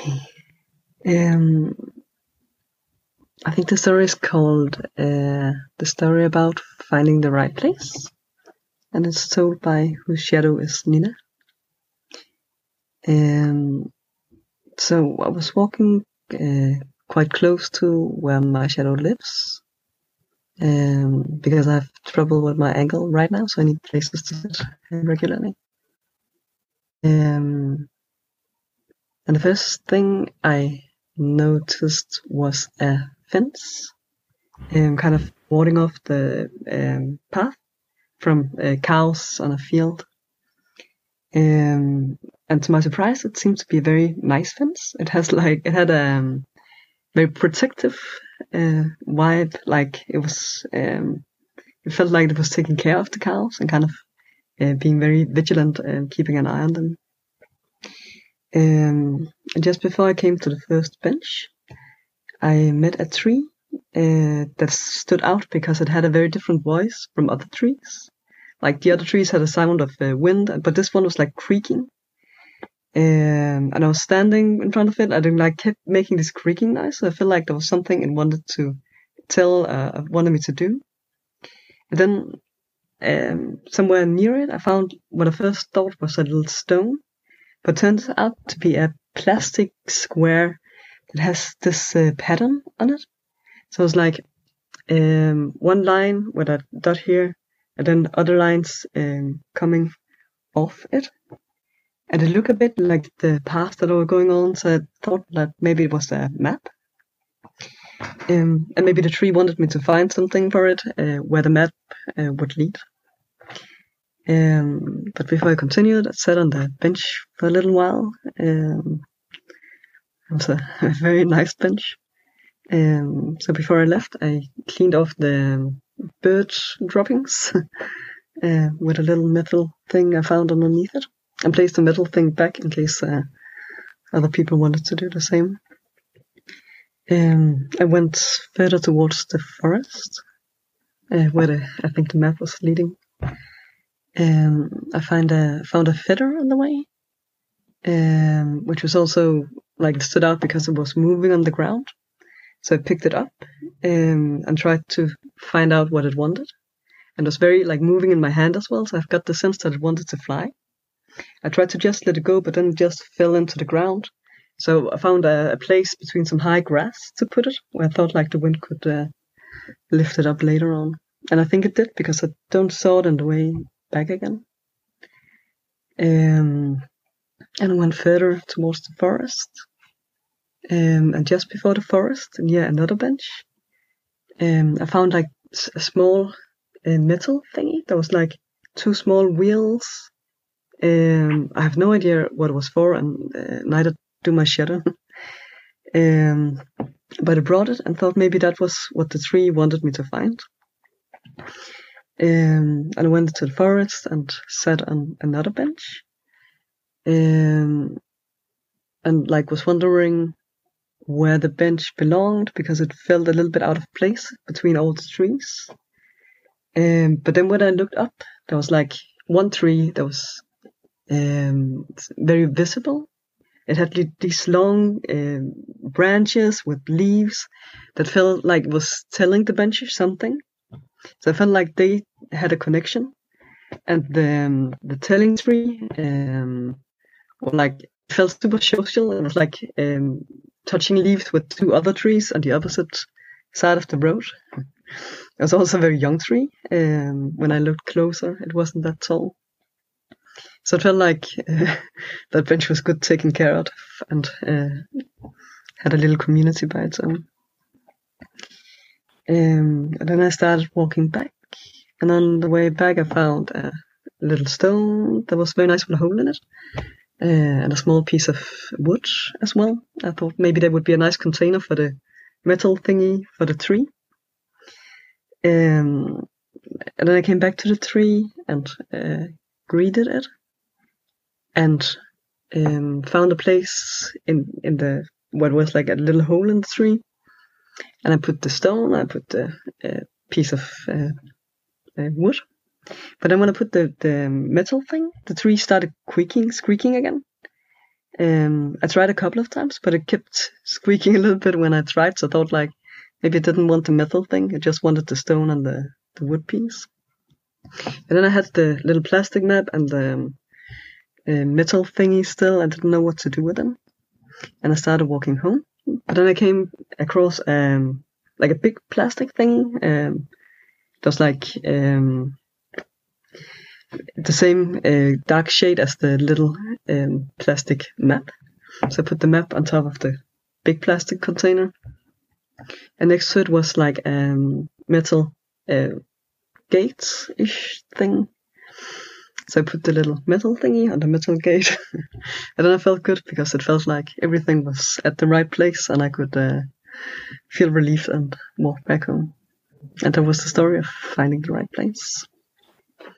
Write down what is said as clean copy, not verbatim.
Um, I think the story is called The Story About Finding the Right Place, and it's told by Whose Shadow is Nina. So I was walking quite close to where my shadow lives, because I have trouble with my ankle right now, so I need places to sit regularly. And the first thing I noticed was a fence, kind of warding off the path from cows on a field. And to my surprise, it seemed to be a very nice fence. It had a very protective vibe. Like it was, it felt like it was taking care of the cows and kind of being very vigilant and keeping an eye on them. And just before I came to the first bench, I met a tree that stood out because it had a very different voice from other trees. Like the other trees had a sound of wind, but this one was like creaking. And I was standing in front of it. I kept making this creaking noise. So I felt like there was something it wanted to wanted me to do. And then somewhere near it, I found what I first thought was a little stone, but turned out to be a plastic square that has this pattern on it. So it's like one line with a dot here, and then other lines coming off it. And it looked a bit like the path that were going on, so I thought that maybe it was a map. And maybe the tree wanted me to find something for it, where the map would lead. But before I continued, I sat on the bench for a little while. It was a very nice bench. So before I left, I cleaned off the bird droppings with a little metal thing I found underneath it, and placed the metal thing back in case other people wanted to do the same. I went further towards the forest, where I think the map was leading. I found a feather on the way, which was also like stood out because it was moving on the ground. So I picked it up and tried to find out what it wanted. And it was very like moving in my hand as well, so I've got the sense that it wanted to fly. I tried to just let it go, but then it just fell into the ground. So I found a place between some high grass to put it, where I thought like the wind could lift it up later on. And I think it did, because I don't saw it on the way back again. And I went further towards the forest. And just before the forest, near another bench, I found like a small metal thingy. There was like two small wheels. I have no idea what it was for, and neither do my shadow. But I brought it and thought maybe that was what the tree wanted me to find. And I went to the forest and sat on another bench. And like was wondering where the bench belonged, because it felt a little bit out of place between all the trees. But then when I looked up, there was like one tree that was very visible. It had these long branches with leaves that felt like it was telling the bench something. So I felt like they had a connection. And the telling tree felt super social. It was like touching leaves with two other trees on the opposite side of the road. It was also a very young tree. When I looked closer, it wasn't that tall. So it felt like that bench was good taken care of, and had a little community by its own. And then I started walking back, and on the way back I found a little stone that was very nice with a hole in it, and a small piece of wood as well. I thought maybe that would be a nice container for the metal thingy for the tree. And then I came back to the tree and greeted it, and found a place in the what was like a little hole in the tree. And I put the stone, I put the piece of wood. But then when I put the metal thing, the tree started squeaking again. I tried a couple of times, but it kept squeaking a little bit when I tried, so I thought like maybe it didn't want the metal thing, it just wanted the stone and the wood piece. And then I had the little plastic map and the metal thingy still. I didn't know what to do with them. And I started walking home. But then I came across like a big plastic thing. It was like the same dark shade as the little plastic map. So I put the map on top of the big plastic container. And next to it was like metal gates-ish thing. So I put the little metal thingy on the metal gate. And then I felt good because it felt like everything was at the right place and I could feel relieved and walk back home. And that was the story of finding the right place.